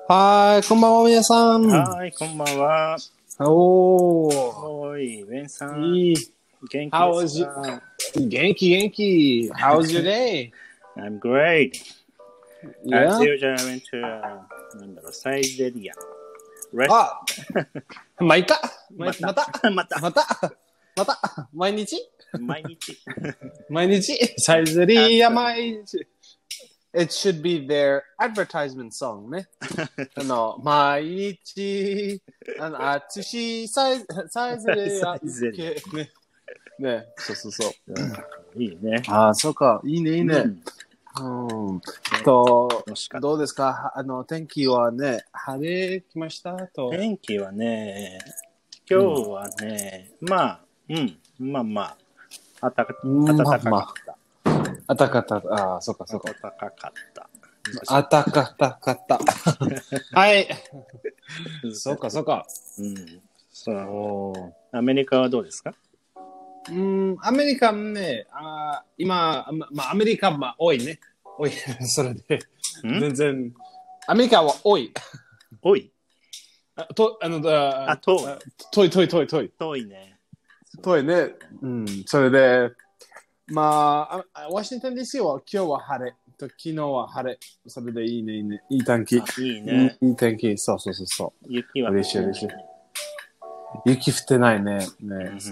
はい、こんばんは、皆さん。 はい、こんばんは。 おー。 おい、ベンさん。 いい。 元気 How で is す you? か？ 元気。How's your day? I'm great. Yeah? As usual, I went to, サイゼリア。 あ、まあ、いいか。 また。 毎日毎日。 サイゼリア毎日。It should be their advertisement song ね。毎日、あつし、サイゼリア。ね、そう。 いいね。 ああ、そうか。いいね。どうですか？天気はね、晴れ来ましたと。 天気はね、今日はね、まあ、暖かかった。 暖かかった。ああ、そうか。 暖かかった。 暖かかった。はい。そうか。 そう。アメリカはどうですか？ アメリカね、今、アメリカ、多いね。多い。それで、全然、アメリカは多い。 多い？ 遠い。 遠いね。 遠いね。それで、ワシントン DC は今日は晴れ。昨日は晴れ。それでいいね。いい天気。 いいね。 いい天気。そう。 雪は嬉しい。雪降ってないね。そう。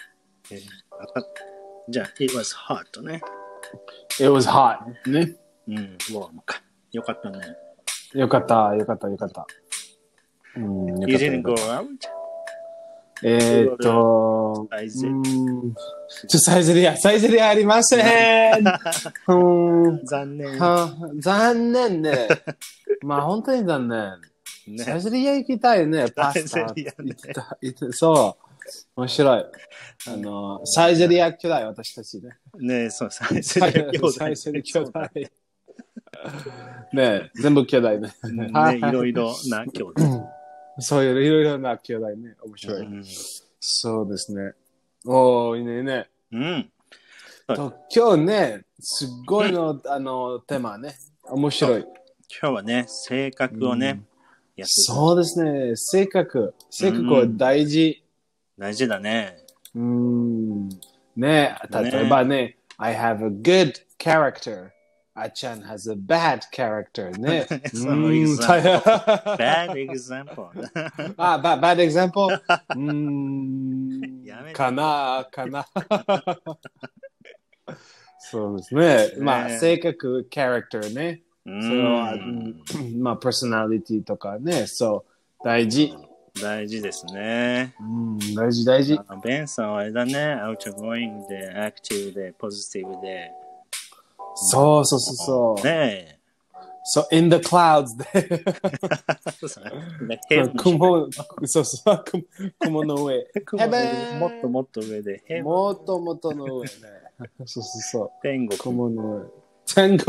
じゃあ、it was hot ね。 It was hot ね。 warm か。よかったね。 よかった。 You didn't go out? サイゼリアありません。 残念ね。本当に残念。サイゼリア行きたいね。パスタ。そう。面白い。サイゼリア兄弟、私たちね。 ね、そう、サイゼリア兄弟。 ね、全部兄弟ね。 いろいろな兄弟。 そういういろいろな兄弟ね。面白い。そうですね。おー、いいね。今日ね、すごいの、テーマね。面白い。 今日はね、性格をね、 そうですね。性格は大事。 大事だね。 ね、例えばね、I have a good character. あちゃん has a bad character ね。 その example. Bad example. Bad example? かな。そうですね。性格、character ね。それは、personality とかね。そう、大事ですね。 大事。 ベンさんはあれだね。outgoing で、active で、positive で。 そう。 ねえ。 So in the clouds で。雲の上。 もっと上で。 もっとの上ね。そう。 天国の上。天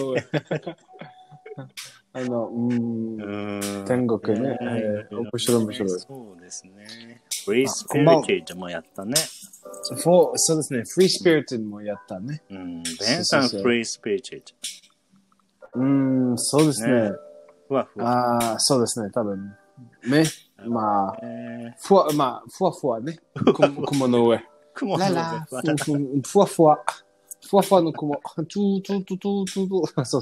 国ね。面白い。 そうですね。Free Spirited もやったね。 そうですね。Free Spirited もやったね。 ベンさん Free Spirited。 そうですね。そうですね。多分。ね。ふわね。雲の上。ふわの雲。そう。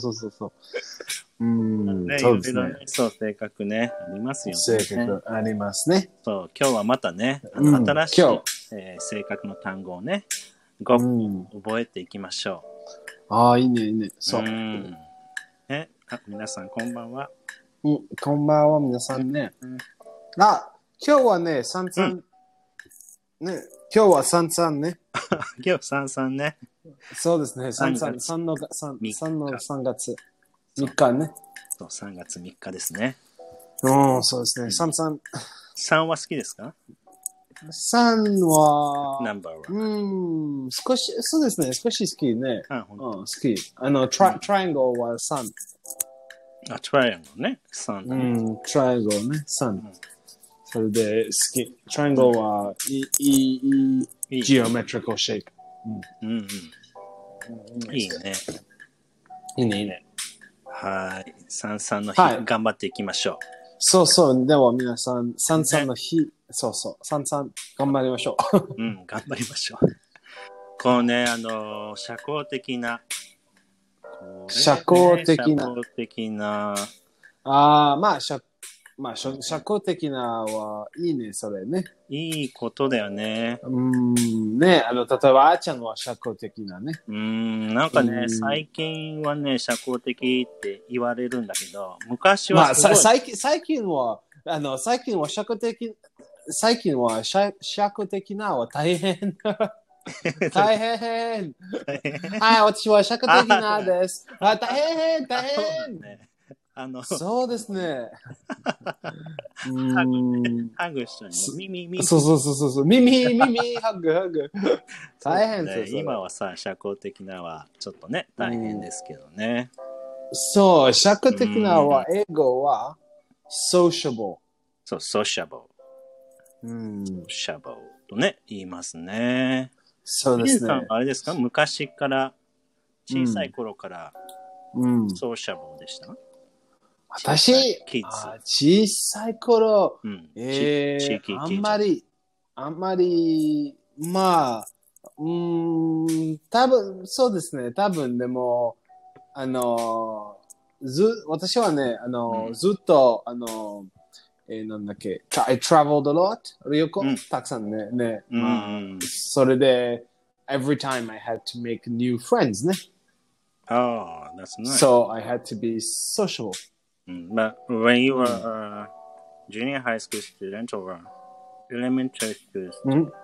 そうですね。そう、性格ね。ありますよね。 性格ありますね。 そう、今日はまたね、新しい性格の単語をね、覚えていきましょう。いいね。そう。 皆さん、こんばんは。 こんばんは、皆さんね。今日はね、三々。ね、今日は三々ね。 今日三々ね。 そうですね、3の3月3日ね。 そう、3月3日ですね。 そうですね、3。 3は好きですか ？3は、 ナンバーは。 少し好きね。好き。トライアングルは3。 トライアングルね。3。 トライアングルね、3。それで好き。トライアングルはいいジオメトリカルシェイプ。 いいね。 いいね。 はい。三々の日、 はい、 頑張っていきましょう。 そうそう。では皆さん、三々の日、そうそう。三々、頑張りましょう。 うん、頑張りましょう。このね、社交的な、 社交的な。 社交的な。 まあ、社交的なはいいね、それね。 いいことだよね。 ね、例えば、あーちゃんは社交的なね。 なんかね、最近はね、社交的って言われるんだけど、昔はすごい。 最近は社交的、最近は社交的なは大変。大変。はい、私は社交的なです。大変。そうですね。 ハグしたね。耳。 そう。耳、ハグ。大変です。 今はさ、社交的なはちょっとね、大変ですけどね。 そう、社交的なは、英語は、sociable。 そう、sociable。sociable とね、言いますね。 そうですね。 あれですか、昔から、小さい頃から、sociable でした、 私、小さい頃、あんまり、まあ、多分、そうですね。多分、でも、私はね、ずっと、なんだっけ、I traveled a lot, 旅行、たくさんね、それで、every time I had to make new friends ね。 Oh, that's nice. So I had to be social. But when you were a junior high school student or elementary school student,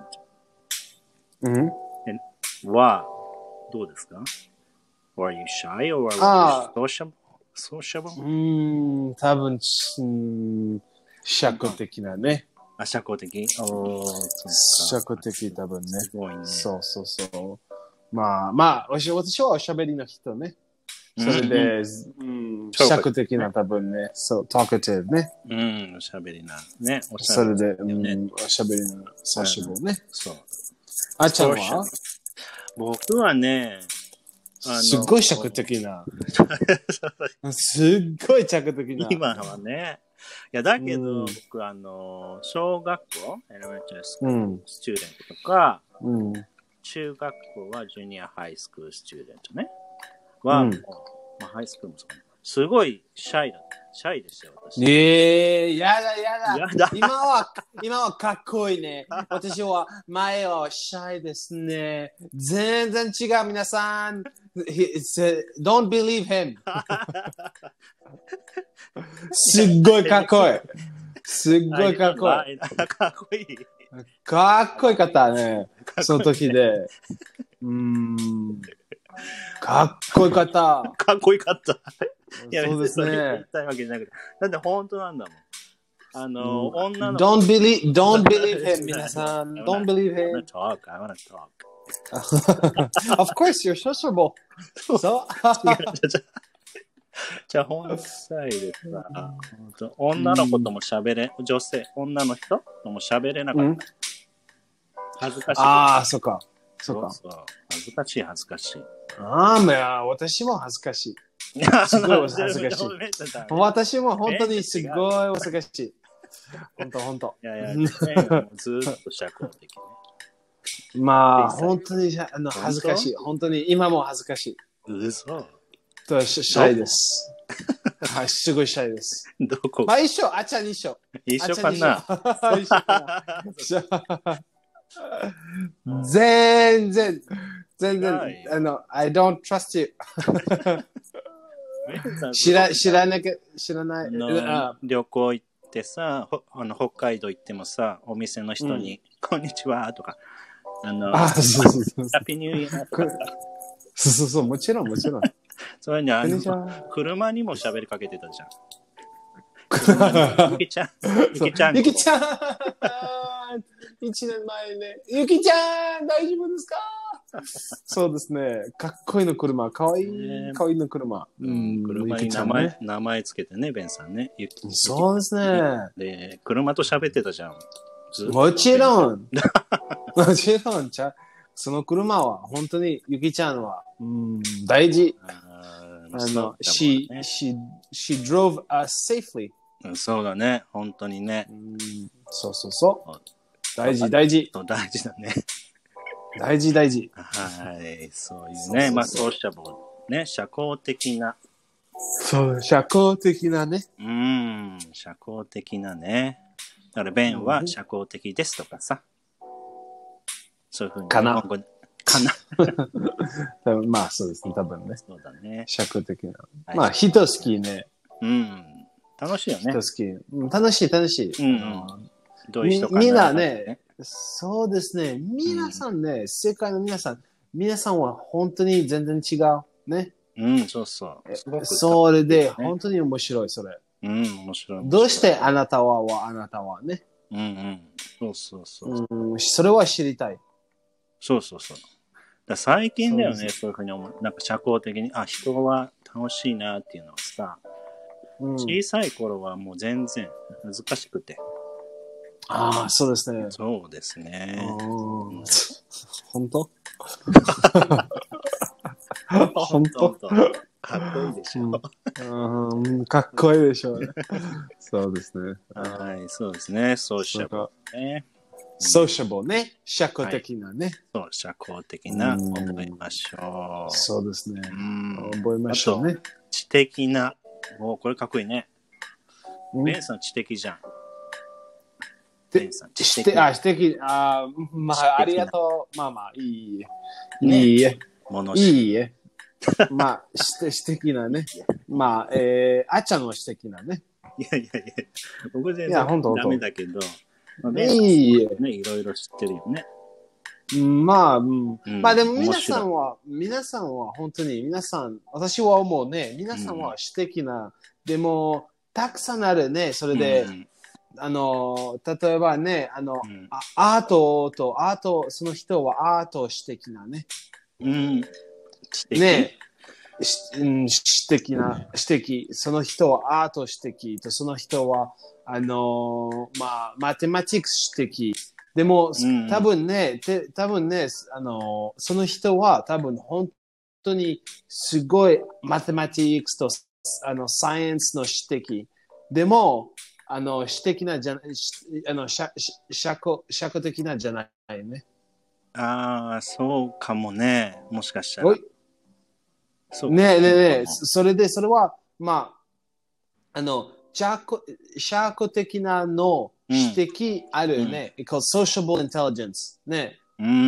はどうですか？ Were you shy or were you sociable? 多分、社交的なね。 社交的？ 社交的多分ね。 すごいね。 そう。まあ、私はおしゃべりの人ね。それで、社交的な多分ね。そう、talkative ね。 おしゃべりな。ね。 それで、おしゃべりな、sociable ね。そう。あちゃんは？ 僕はね、 すっごい社交的な。すっごい社交的な。 今はね。いや、だけど、僕、小学校、elementary school スチューデントとか、中学校はジュニアハイスクールスチューデントね。は、ハイスクールもそう。すごいシャイですよ、私。 やだ。今はかっこいいね。私は前はシャイですね。全然違う、皆さん。Don't believe him. すっごいかっこいい。すっごいかっこいい。 かっこいい。 かっこよかったね。その時で。かっこよかった。 かっこよかった。 そうですね。 言いたいわけじゃなくて。だって本当なんだもん。女の Don't believe him, 皆さん。Don't believe him. I wanna talk. Of course, you're sociable. そう。 じゃあ、本際でさ、女の子とも喋れ、女の人とも喋れなかった。恥ずかしい。 そっか。 恥ずかしい。 私も恥ずかしい。すごい恥ずかしい。私も本当にすごい恥ずかしい。本当。 いや、ずっと社交的ね。 本当に恥ずかしい。本当に今も恥ずかしい。 嘘。 シャイです。はい、すごいシャイです。 どこ？ 一緒、あちゃん一緒。 一緒かな。 全然、I don't trust you. 知らない。 旅行行ってさ、北海道行ってもさ、お店の人に、こんにちはとか、ハッピーニューイヤーとか。 そう、もちろん。 それに車にも喋りかけてたじゃん。ゆきちゃん。 1年前ね。ゆきちゃん、大丈夫ですか？そうですね。かっこいいの車。かわいいの車。 車に名前つけてね、ベンさんね。 そうですね。 で、車と喋ってたじゃん。 もちろん。その車は、本当に、ゆきちゃんは、大事。 she drove us safely. そうだね、本当にね。 そうそうそう。大事、大事。 大事だね。 大事、大事。 はい、そういうね、まあ、ソーシャブル、ね、社交的な。 そう、社交的なね。 社交的なね。だから、ベンは社交的ですとかさ。そういうふうに。 かな。 かな。 まあ、そうですね、多分ね。 そうだね。 社交的な。まあ、人好きね。 楽しいよね。 人好き。楽しい、楽しい。 どういう人かな。 みんなね、そうですね。皆さんね、世界の皆さんは本当に全然違う。ね。 そうそう。 それで、本当に面白い、それ。 面白い。 どうしてあなたはあなたはね。 そうそうそう。 それは知りたい。 そうそうそう。最近だよね、そういうふうに思う。なんか社交的に、人は楽しいなっていうのはさ、小さい頃はもう全然難しくて。 ああ、そうですね。 そうですね。 本当本当かっこいいでしょ。 かっこいいでしょうね。そうですね。 はい、そうですね。ソーシャブルね。 ソーシャブルね。社交的なね。 そう、社交的な、覚えましょう。 そうですね。覚えましょうね。 知的な。これかっこいいね。ベンさん知的じゃん。ベンさん知的。 知的。まあ、ありがとう。まあ、いいえ。いいえ。いいえ。まあ、知的なね。まあ、あっちゃんの知的なね。 いや、僕全然ダメだけど、 いいえ。 ね、いろいろ知ってるよね。 まあ、まあでも皆さんは本当に私は思うね、皆さんは知的な、でも、たくさんあるね、それで、例えばね、アート、その人はアート知的なね。ね、知的、その人はアート知的、その人は、まあ、マテマティクス知的。でも、多分ね、その人は多分本当にすごいマテマティクスとサイエンスの知的。でも、知的なじゃ社交的なじゃないね。 そうかもね。もしかしたら。 ねえ、それは、まあ、社交的なの指摘あるね。called sociable intelligence。ね。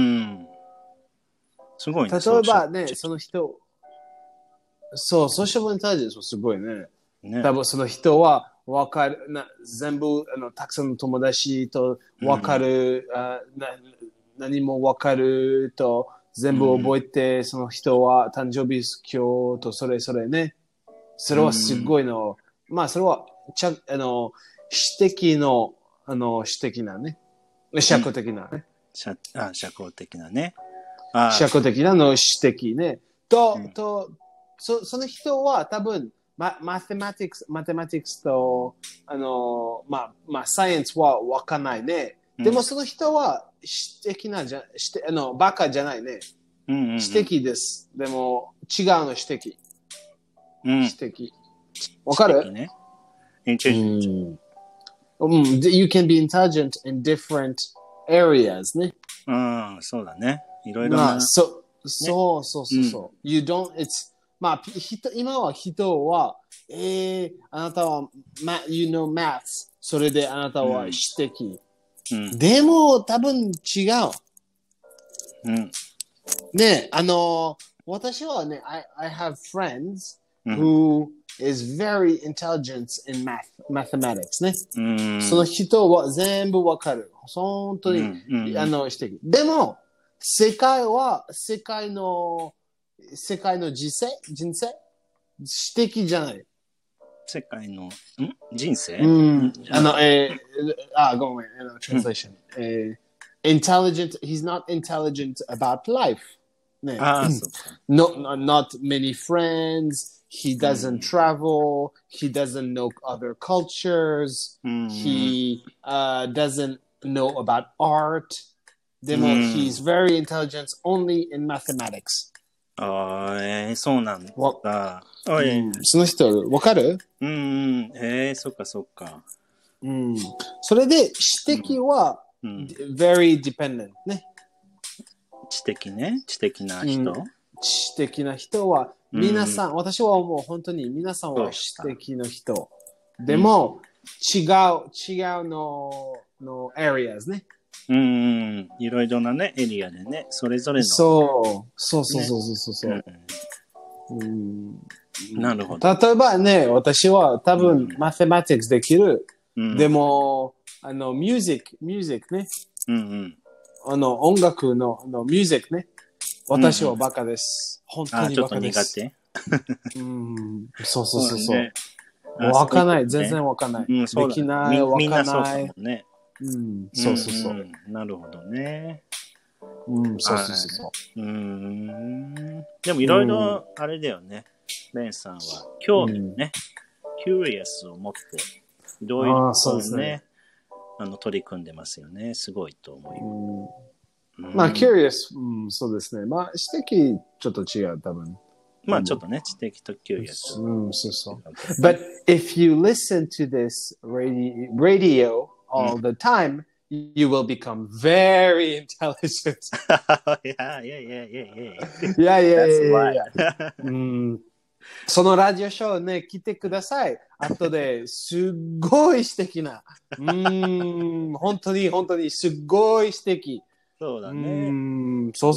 すごいね。 例えばね、その人、そう、sociable intelligence はすごいね。多分その人は分かる、全部たくさんの友達と分かる、何も分かると全部覚えて、その人は誕生日今日とそれね。それはすごいの。まあそれは指摘の指摘なね。社交的なね。 社交的なね。 社交的なの指摘ね。その人は多分マテマティクスとまあサイエンスは分かんないね。でもその人は指摘なバカじゃないね。指摘です。でも違うの指摘。指摘。わかる？ ね。 You can be intelligent in different areas ね。 そうだね。いろいろな。 そう。You don't, it's まあ、今は人は、あなたは、you know maths。それであなたは指摘。でも、多分違う。ね、私はね、I have friends who is very intelligent in mathematics ね。その人は全部わかる。本当に、指摘。でも、世界の人生指摘じゃない。 世界の人生ごめん、translation. Intelligent, he's not intelligent about life. ね。Not many friends, he doesn't travel, he doesn't know other cultures, he doesn't know about art. でも、he's very intelligent only in mathematics. ああ、そうなんだ。 その人、わかる？ そっかそっか。 それで、知的は、very dependent ね。 知的ね。知的な人。 知的な人は、皆さん、私はもう本当に皆さんは知的な人。でも、違うの areas ね。 いろいろなね、エリアでね、それぞれの。 そう。なるほど。例えばね、私は多分、mathematics できる。でも、ミュージックね。音楽のミュージックね。私はバカです。本当にバカです。 ちょっと苦手。 そう。わかんない。全然わかんない。できない。わかんない。 みんなそうだもんね。 そう。 なるほどね。 そう。 でもいろいろあれだよね。ベンさんは興味ね。キュリアスを持って、いろいろね、取り組んでますよね。すごいと思う。 まあ、curious、そうですね。まあ、知的ちょっと違う、多分。 まあ、ちょっとね、知的と curious。 そう。But if you listen to this radio all the time, you will become very intelligent. Yeah. いや。そのラジオショーね、来てください。後ですっごい素敵な。本当にすっごい素敵。 そうだね。 そう、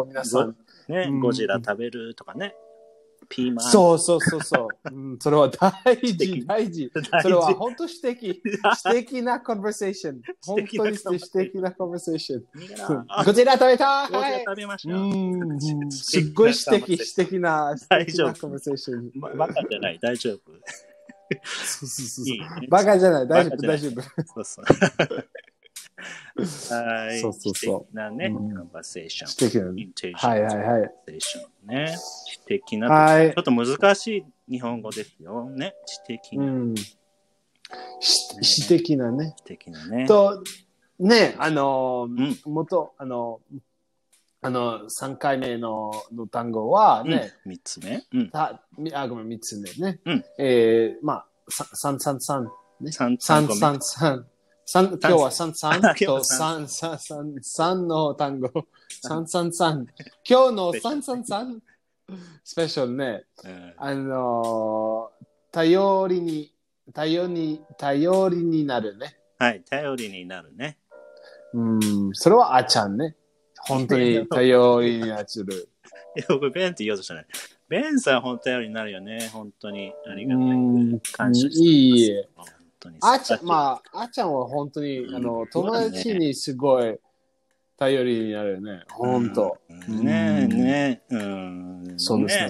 皆さん。 ね、ゴジラ食べるとかね。ピーマン。 そう。それは大事。それは本当素敵なコンバーセーション。本当に素敵なコンバーセーション。ゴジラ食べたゴジラ食べましょう。 すっごい素敵なコンバーセーション。 バカじゃない、大丈夫。 そう。バカじゃない、大丈夫。 そう。はい。 そう。 素敵なね、コンバーセーション。 素敵な。はい。 コンバーセーションね。素敵な。ちょっと難しい日本語ですよね。素敵な。 素敵なね。 素敵なね。 と、ね、元、3回目の単語はね、 3つ目。 ごめん、3つ目ね。まあ、333ね。333。今日は33と3の単語。333。今日の333。スペシャルね。頼りになるね。 はい、頼りになるね。 それはあちゃんね。本当に頼りになる。 僕、ベンって言おうとしたね。ベンさん、本当頼りになるよね。本当に。ありがたい。感謝してます。 いいえ。あちゃんは本当に、友達にすごい頼りになるね。本当。 ね。 そうですね。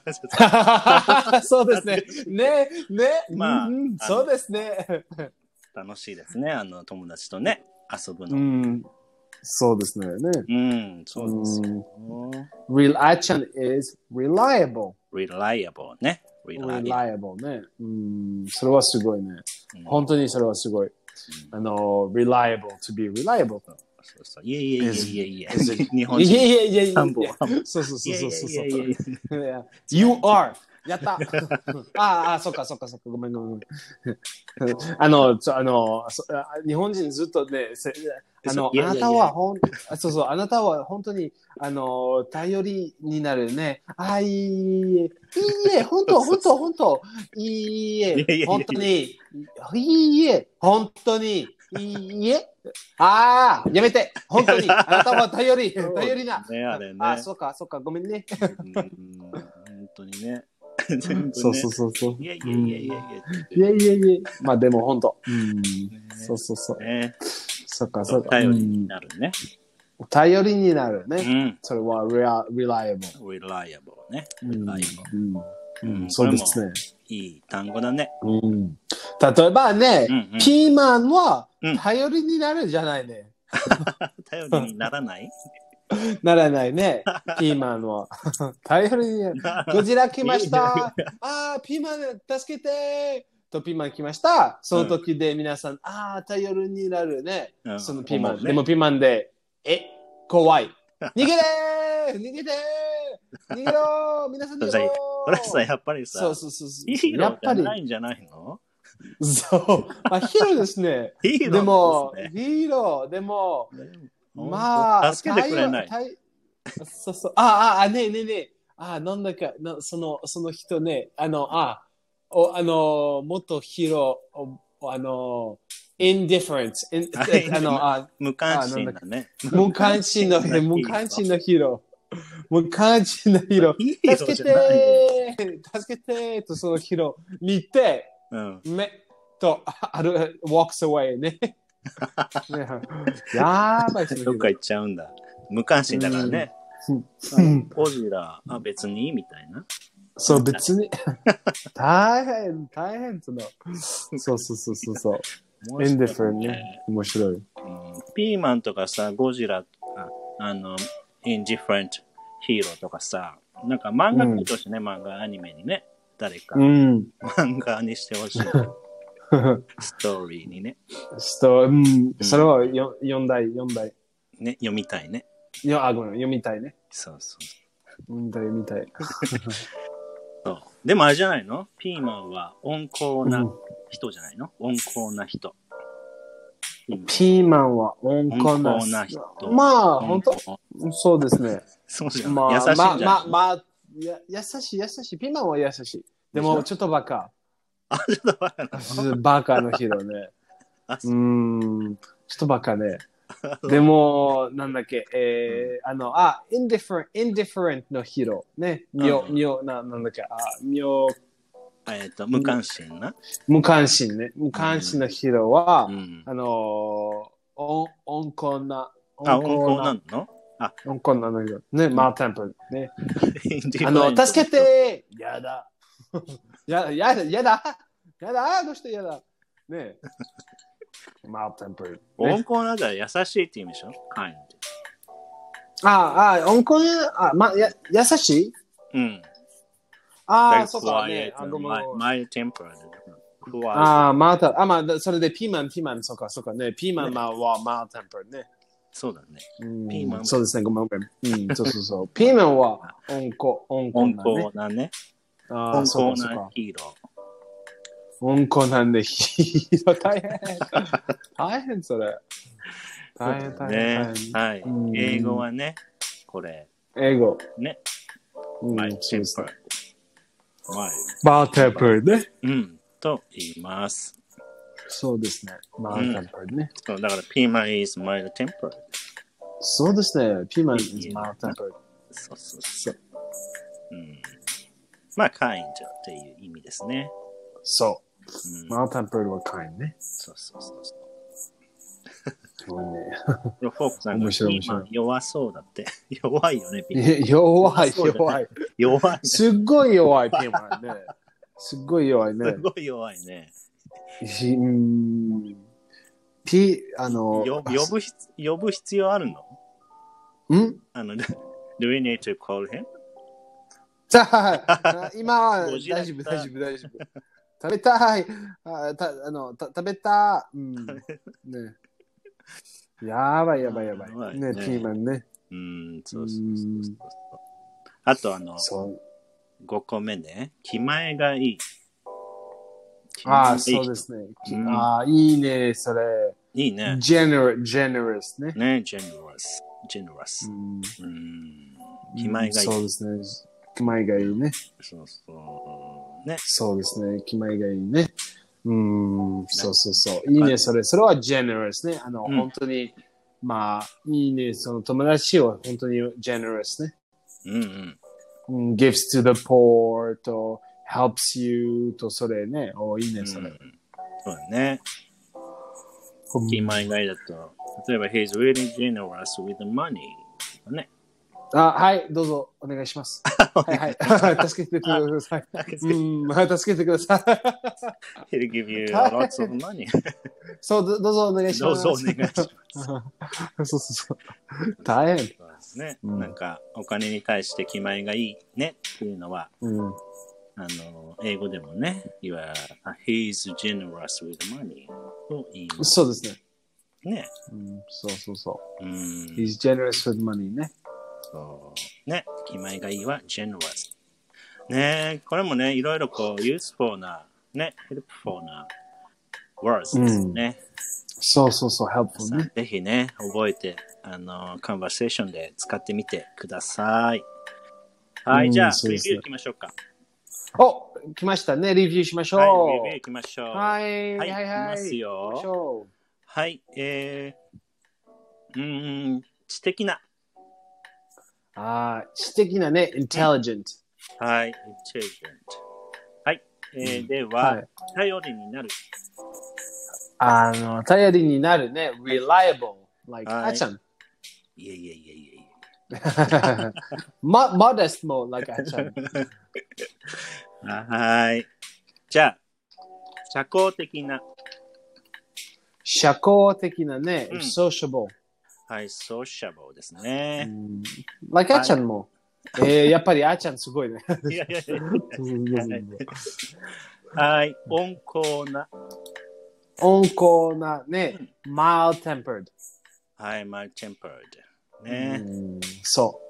そうですね。まあ、そうですね。 楽しいですね。友達とね、遊ぶの。 そうですね。 そうですよ。 あちゃん is reliable. reliable ね。 reliable ね。それはすごいね。本当にそれはすごい。reliable to be reliable と。 そう。いえ。日本人。 いや。 三本。 そう。You are. やったそっか。ごめん。日本人ずっとね、あなたはあなたは本当に、頼りになるね。いいえ、本当。いいえ、本当に。いいえ、本当に。いいえ。やめて。本当に。あなたは頼りな。 ね、あれね。 そっか。ごめんね。 本当にね。 そう。 いや。 まあでも本当。そう。そっか。 頼りになるね。 頼りになるね。それは reliable ね。 そうですね。 いい単語だね。 例えばね、ピーマンは頼りになるじゃないね。 頼りにならないならないね。ピーマンは。頼りになる。ゴジラ来ました。ピーマン助けてとピーマン来ました。その時で皆さん、頼りになるね。そのピーマン。でもピーマンで、怖い。逃げて逃げろー皆さん逃げろーこれさ、やっぱりさ、 そう。 ヒーローじゃないんじゃないの？ そう。ヒーローですね。 ヒーローですね。 でも、ヒーロー、でも、まあ、 助けてくれない。 そう。ねえ。なんだか、その人ね、元ヒーロー、indifference、 無関心だね。 無関心のヒーロー。無関心のヒーロー。助けてとそのヒーロー見て、目とwalks away ね。やばい。 どっか行っちゃうんだ。無関心だからね。ゴジラ、別にみたいな。 そう、別に。大変その。そう。indifferent ね。面白い。 ピーマンとかさ、ゴジラとか、indifferent ヒーローとかさ、なんか漫画来てほしいね、漫画アニメにね。誰か。漫画にしてほしい。ストーリーにね。 それは読んだい。 ね、読みたいね。 読みたいね。 そう。 読みたい。 そう。でもあれじゃないの？ピーマンは温厚な人じゃないの？温厚な人。 ピーマンは温厚な人。まあ、本当そうですね。 そうじゃん。優しいんじゃない？ 優しい。ピーマンは優しい。でも、ちょっとバカ。 ちょっとバカなの？ バカのヒーローね。ちょっとバカね。でも、なんだっけ、indifferent のヒーロー。ね。なんだっけ、 無関心な。 無関心ね。無関心のヒーローは、温厚な。 温厚なの？ 温厚なのヒーロー。ね、マーテンプル。ね。助けてやだ。やだどうしてやだねマーテンプル。 温厚なんだ優しいって意味でしょ？ kind。 温厚優しい？そうかね。 my temper。 それでピーマン、そうかね。ピーマンはマーテンプルね。 そうだね。ピーマン。 そうですね、ごめん。そう。ピーマンは温厚なね。 温厚なヒーロー。 温厚なんでヒーロー大変それ。大変。 はい。英語はね、これ。 英語。 ね。my temper。 マーテンプルね。 と言います。 そうですね。マーテンプルね。 だからピーマン is mild temper。 そうですね。ピーマン is mild temper。 そう。まあ、kind っていう意味ですね。 そう。mild temper は kind ね。 そう。 すごいね。 フォークさんがピーマン弱そうだって。弱いよね、ピーマン。弱い。すっごい弱い、ピーマンね。すっごい弱いね。 呼ぶ必要あるの？Do we need to call him? 今は大丈夫。食べたい。食べた。ね。やばい。ね、ピーマンね。 そう。あと5個目ね。気前がいい。 そうですね。いいね、それ。 いいね。 generous ね。 generous。気前がいい。 そうですね。気前がいいね。 そう。ね。 そうですね。気前がいいね。そう。いいね、それは generous ね。本当に、いいね、その友達は本当に generous ね。gives to the poor と helps you とそれね。いいね、それ。 そうだね。気前がいいだと、例えば he's really generous with money ね。 はい、どうぞお願いします。はい。助けてください。助けてください。He'll give you lots of money. そう、どうぞお願いします。そう。大変。 ね。なんか、お金に対して気前がいいねっていうのは、英語でもね、he's generous with money と言います。 そうですね。 ね。 そう。he's generous with money ね。 そうね、気前がいいは generous。ね、これもね、いろいろこう、useful な、ね、helpful な words ですね。 そうそうそう、helpful ね。 ぜひね、覚えて、カンバーセーションで使ってみてください。はい、じゃあ、レビュー行きましょうか。 お、来ましたね。レビューしましょう。 はい、レビュー行きましょう。 はい、 はい、 はい、 行きはい。 ますよ。はい、知的な。 知的なね、intelligent。 はい、intelligent。はい、では、頼りになる。 頼りになるね、reliable。like、あちゃん。 いえいえいえいえ。 modest も like あちゃん。 はい。じゃあ、社交的な。 社交的なね、sociable。 はい、sociable ですね。 like あちゃんも。やっぱりあちゃんすごいね。 いやいやいや。はい、温厚な。 温厚なね、mild tempered。 はい、mild tempered。ね。 そう。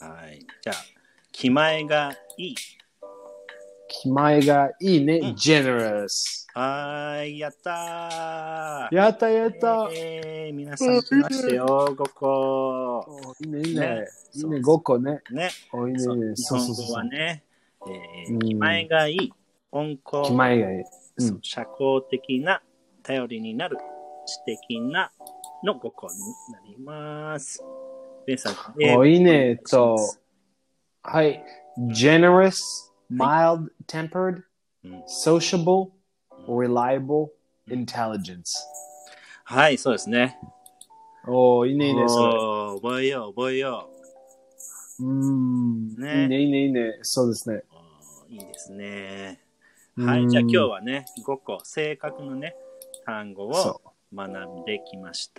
はい。じゃあ、気前がいい。 気前がいいね、generous。 はい、やったー。やったやった。 皆さん来ましたよ、5個。 いいね、いいね。いいね、5個ね。 ね。 いいね、 日本語はね、気前がいい、温厚。 気前がいい。 社交的な、頼りになる、知的なの5個になります。ベンさん、 いいね、はい。generous, mild-tempered, sociable, reliable, intelligence。 はい、そうですね。 いいね、いいね、それ。覚えよう、覚えよう。いいね、いいね、いいね。そうですね。 いいですね。はい、じゃあ今日はね、5個、正確のね、単語を学んできました。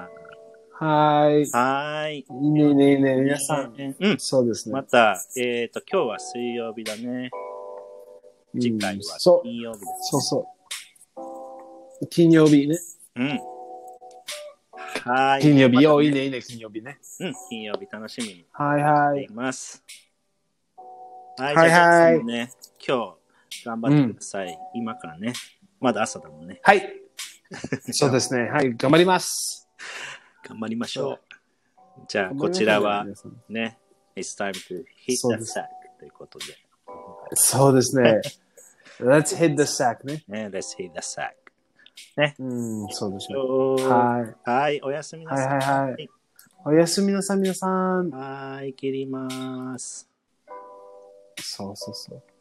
はい。 はい。 いいね、いいね、いいね、皆さん。そうですね。 また、今日は水曜日だね。次回は金曜日です。 そうそう。金曜日ね。 はい。 金曜日、いいね、いいね、金曜日ね。 金曜日楽しみにしています。 はい、はい。はい、はい。 ね、今日頑張ってください。今からね。まだ朝だもんね。 はい。そうですね。はい、頑張ります。 頑張りましょう。じゃあ、こちらはね、It's time to hit the sack ということで。 そうですね。Let's hit the sack ね。 Let's hit the sack。ね。 そうですね。 はい。はい、おやすみなさい。 はいはいはい。おやすみなさい、皆さん。 はい、切ります。 そうそうそう。